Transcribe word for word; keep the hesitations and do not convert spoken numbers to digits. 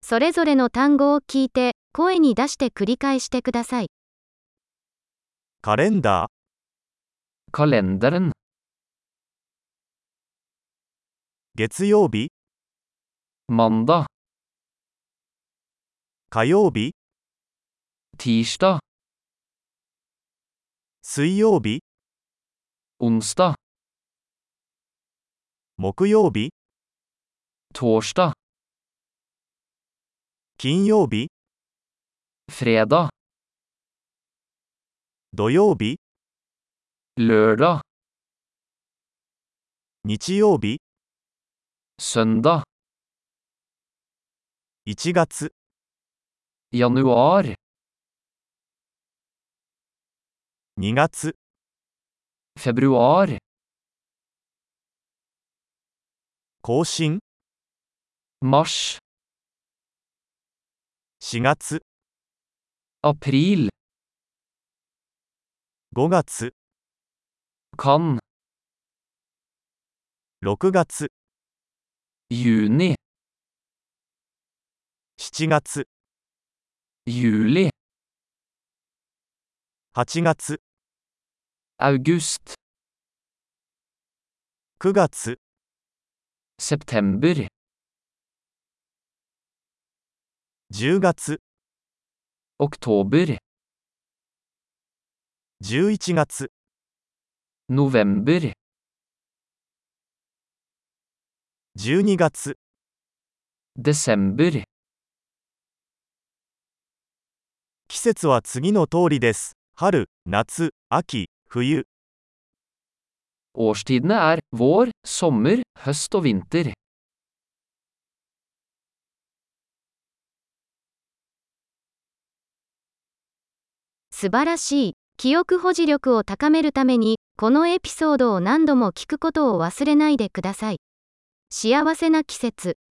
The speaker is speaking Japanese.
それぞれの単語を聞いて、声に出して繰り返してください。 カレンダー、 Kalenderen. 月曜日、 Mandag. 火曜日、 Tirsdag. 水曜日、 Onsdag. 木曜日、 Torsdag. 金曜日、 Fredag. 土曜日、 Lørdag. 日曜日、 Søndag. いちがつ、 Januar. にがつ、 Februar. 更新、 Mars. しがつ、 April. ごがつ、 Kan. ろくがつ、 Juni. しちがつ、 Juli. はちがつ、 August. くがつ、 September. じゅうがつ、 Oktober. じゅういちがつ、 November. じゅうにがつ、 Desember. 季節は次の通りです。春、夏、秋、冬。 Årstidene er vår, sommer, høst og vinter. 素晴らしい。記憶保持力を高めるために、このエピソードを何度も聞くことを忘れないでください。幸せな季節。